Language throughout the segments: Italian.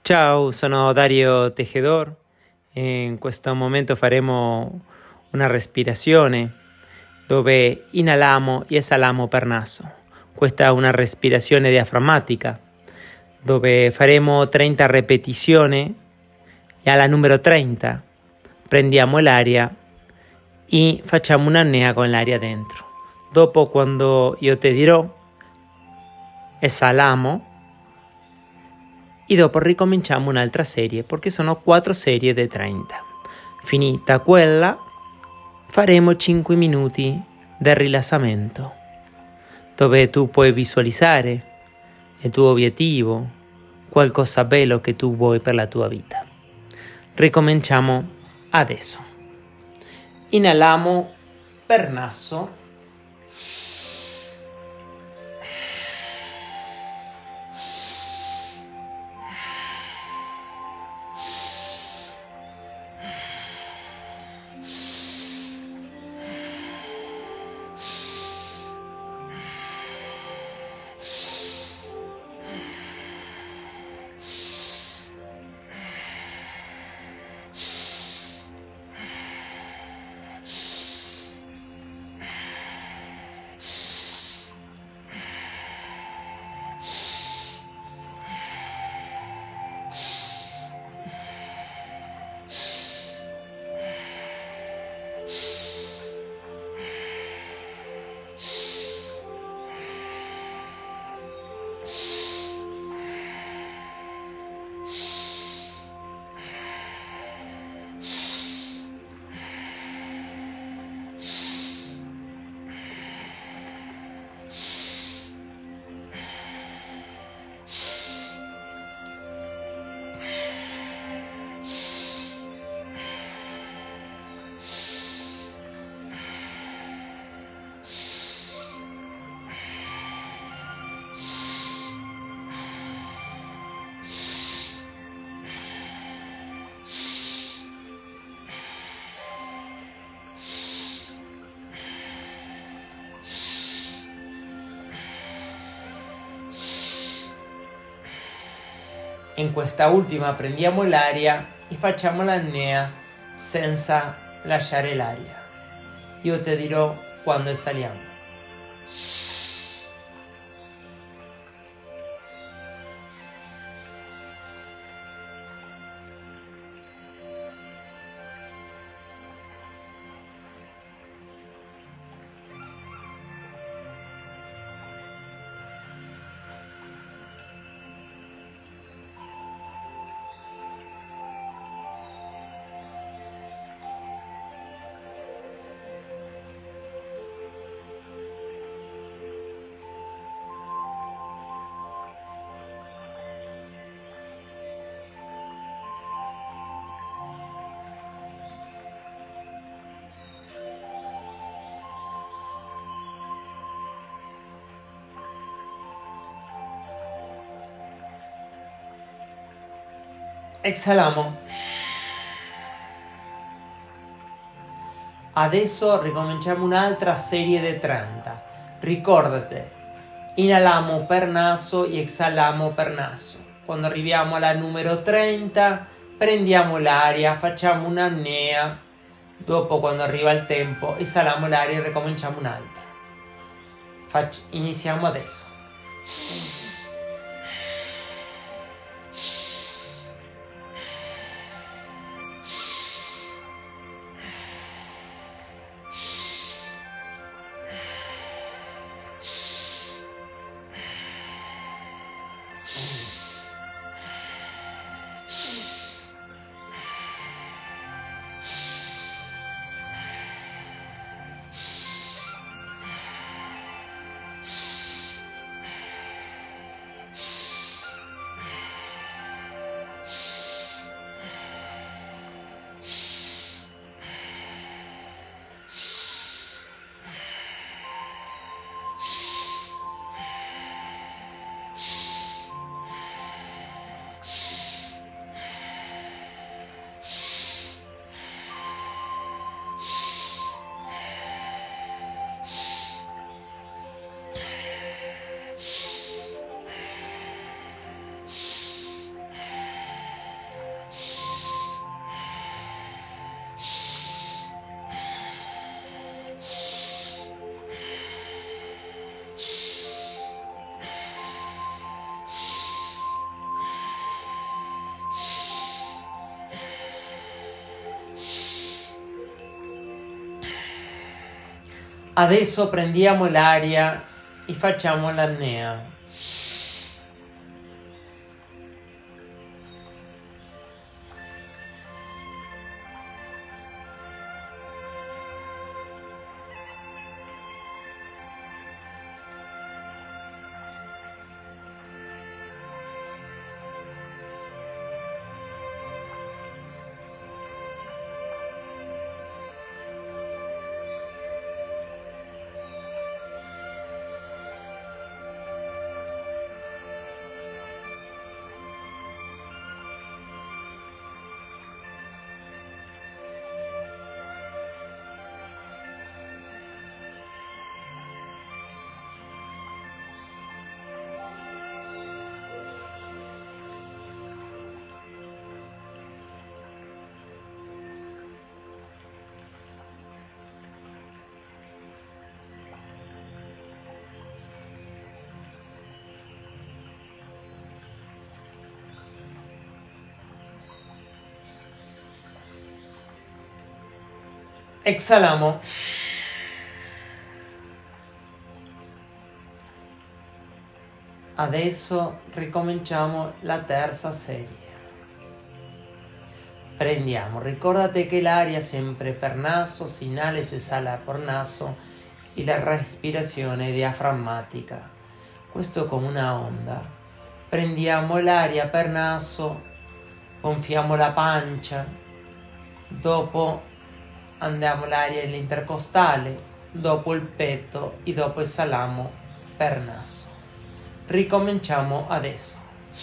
Ciao, sono Dario Tejedor. In questo momento faremo una respirazione dove inaliamo e esaliamo per naso. Questa è una respirazione diaframmatica dove faremo 30 ripetizioni e alla numero 30 prendiamo l'aria e facciamo un'apnea con l'aria dentro. Dopo, quando io ti dirò, esaliamo e dopo ricominciamo un'altra serie perché sono 4 serie di 30. Finita quella faremo 5 minuti di rilassamento dove tu puoi visualizzare il tuo obiettivo, qualcosa bello che tu vuoi per la tua vita. Ricominciamo adesso. Inaliamo per naso. In questa ultima prendiamo l'aria e facciamo l'apnea senza lasciare l'aria. Io ti dirò quando esaliamo. Exhaliamo. Adesso ricominciamo un'altra serie di 30. Ricordati, inaliamo per naso e esaliamo per naso. Quando arriviamo alla numero 30, prendiamo l'aria, facciamo un'apnea. Dopo, quando arriva il tempo, esaliamo l'aria e ricominciamo un'altra. Iniziamo adesso. Adesso prendiamo l'aria e facciamo l'apnea. Exhalamos. Adesso ricominciamo la terza serie. Prendiamo, ricordate che l'aria sempre per naso, si inhala e si esala por naso e la respirazione diaframmatica. Questo è come una onda. Prendiamo l'aria per naso, gonfiamo la pancia, dopo andiamo l'aria all'intercostale, dopo il petto e dopo esaliamo per naso. Ricominciamo adesso.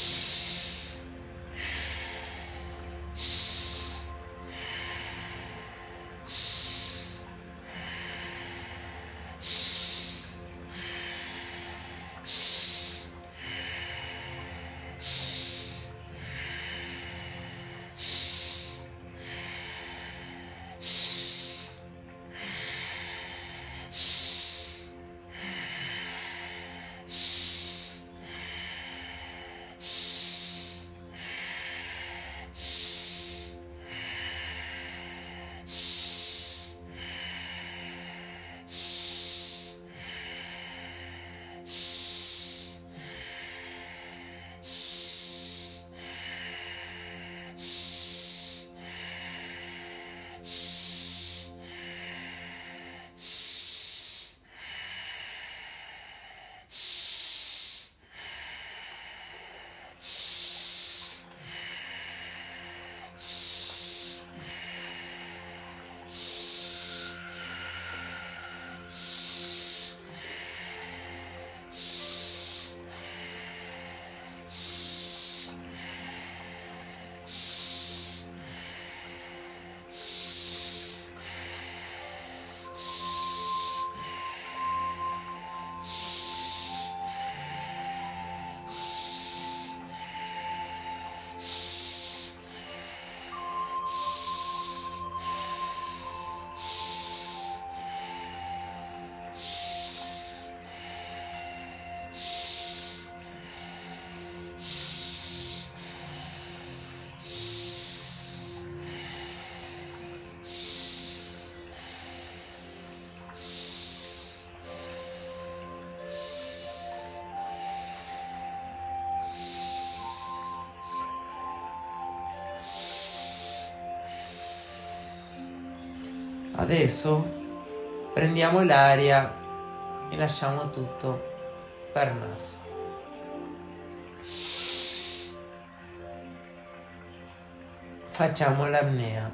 Adesso prendiamo l'aria e lasciamo tutto per naso. Facciamo l'apnea.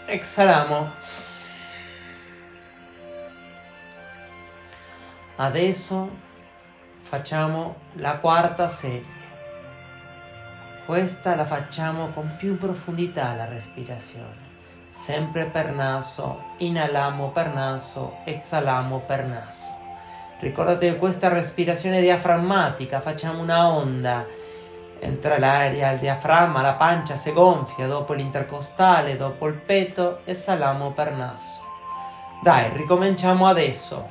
exhaliamo. Adesso facciamo la quarta serie. Questa la facciamo con più profondità la respirazione. Sempre per naso, inaliamo per naso, exhaliamo per naso. Ricordate che questa respirazione diaframmatica, facciamo una onda, entra l'aria al diaframma, la pancia si gonfia, dopo l'intercostale, dopo il petto, esaliamo per naso. Dai, ricominciamo adesso.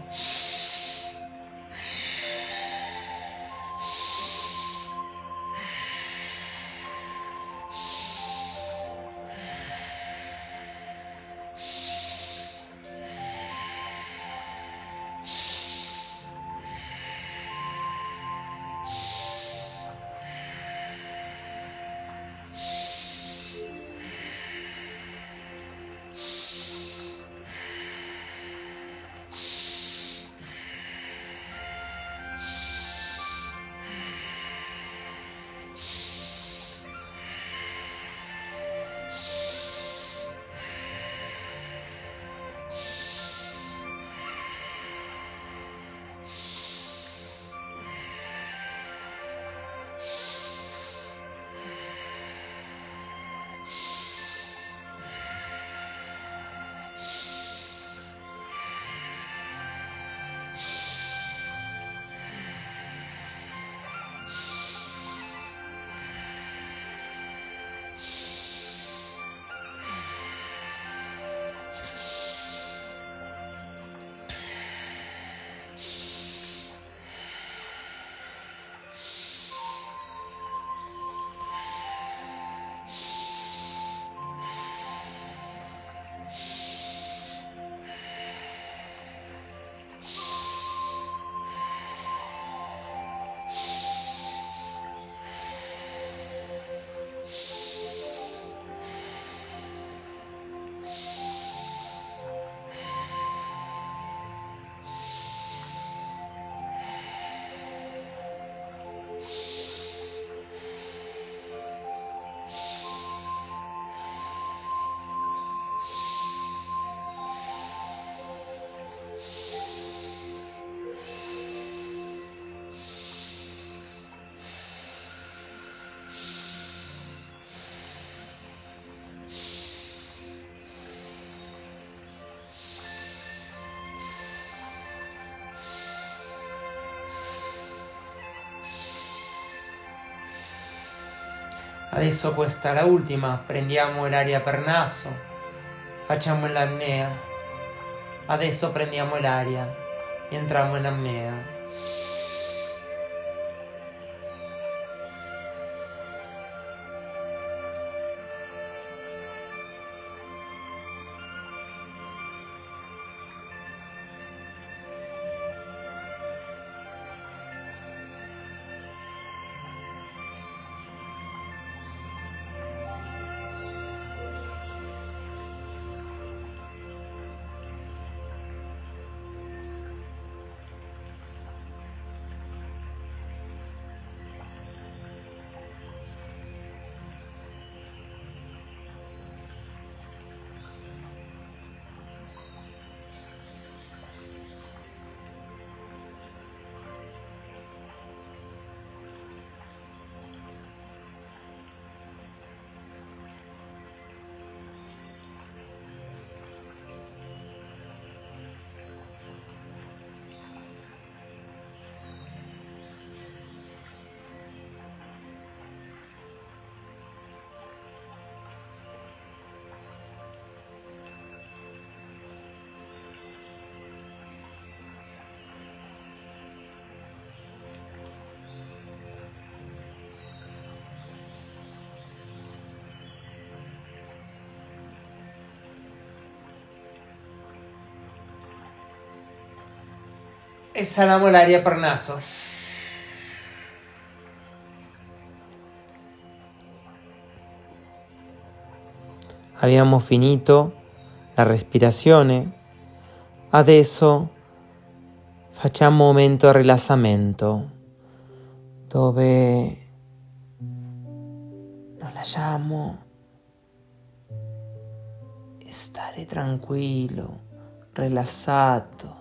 Adesso questa è la ultima, prendiamo l'aria per naso, facciamo l'apnea. Adesso prendiamo l'aria, entriamo in apnea. Esaliamo l'aria per naso. Abbiamo finito la respirazione. Adesso facciamo un momento di rilassamento dove nos lasciamo stare tranquillo, rilassato.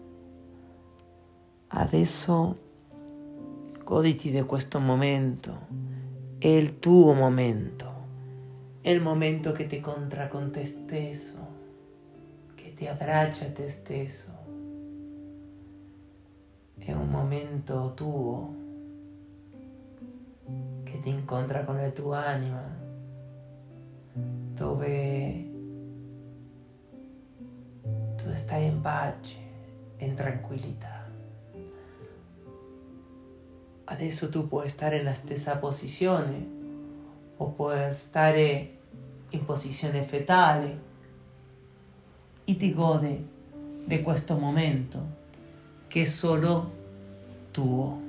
Adesso goditi di questo momento, è il tuo momento, è il momento che ti incontra con te stesso, che ti abbraccia a te stesso. È un momento tuo che ti incontra con la tua anima, dove tu stai in pace, in tranquillità. Adesso tu puoi stare nella stessa posizione o puoi stare in posizione fetale e ti godi di questo momento che è solo tuo.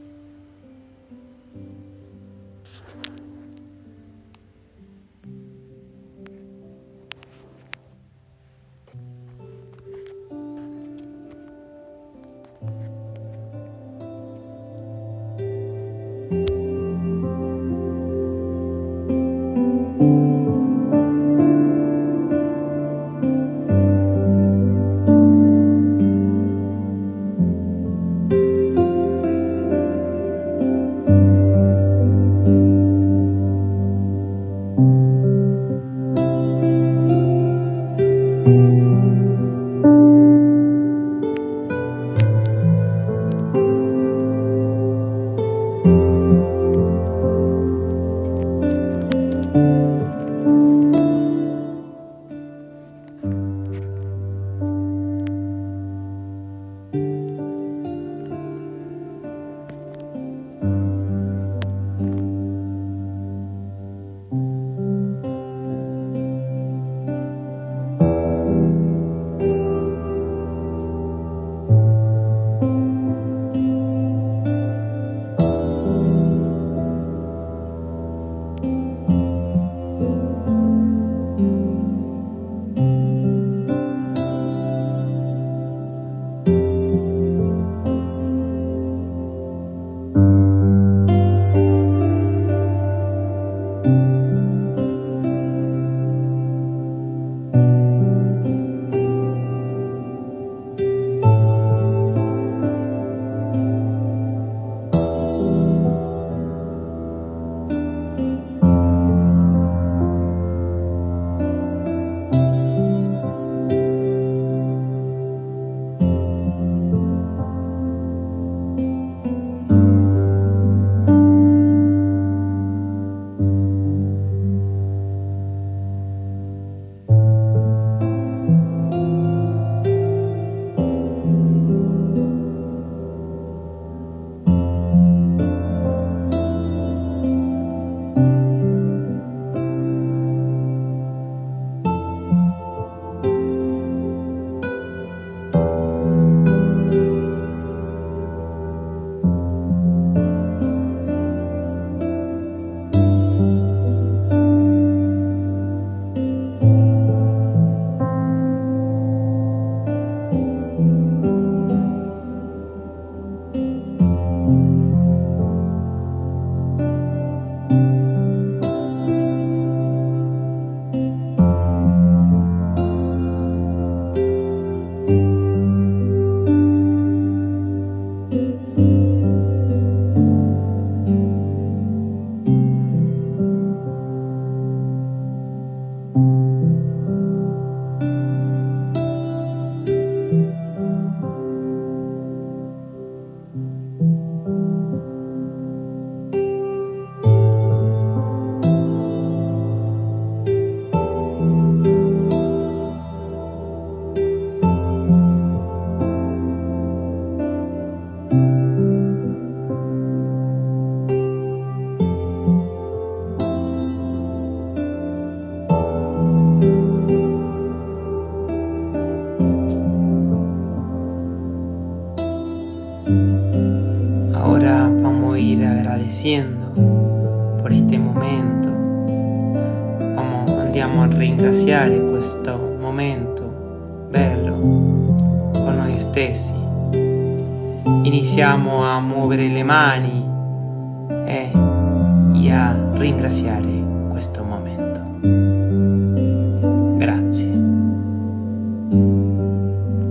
agradecendo por este momento. Andiamo a ringraziare questo momento bello con noi stessi. Iniziamo a muovere le mani e a ringraziare.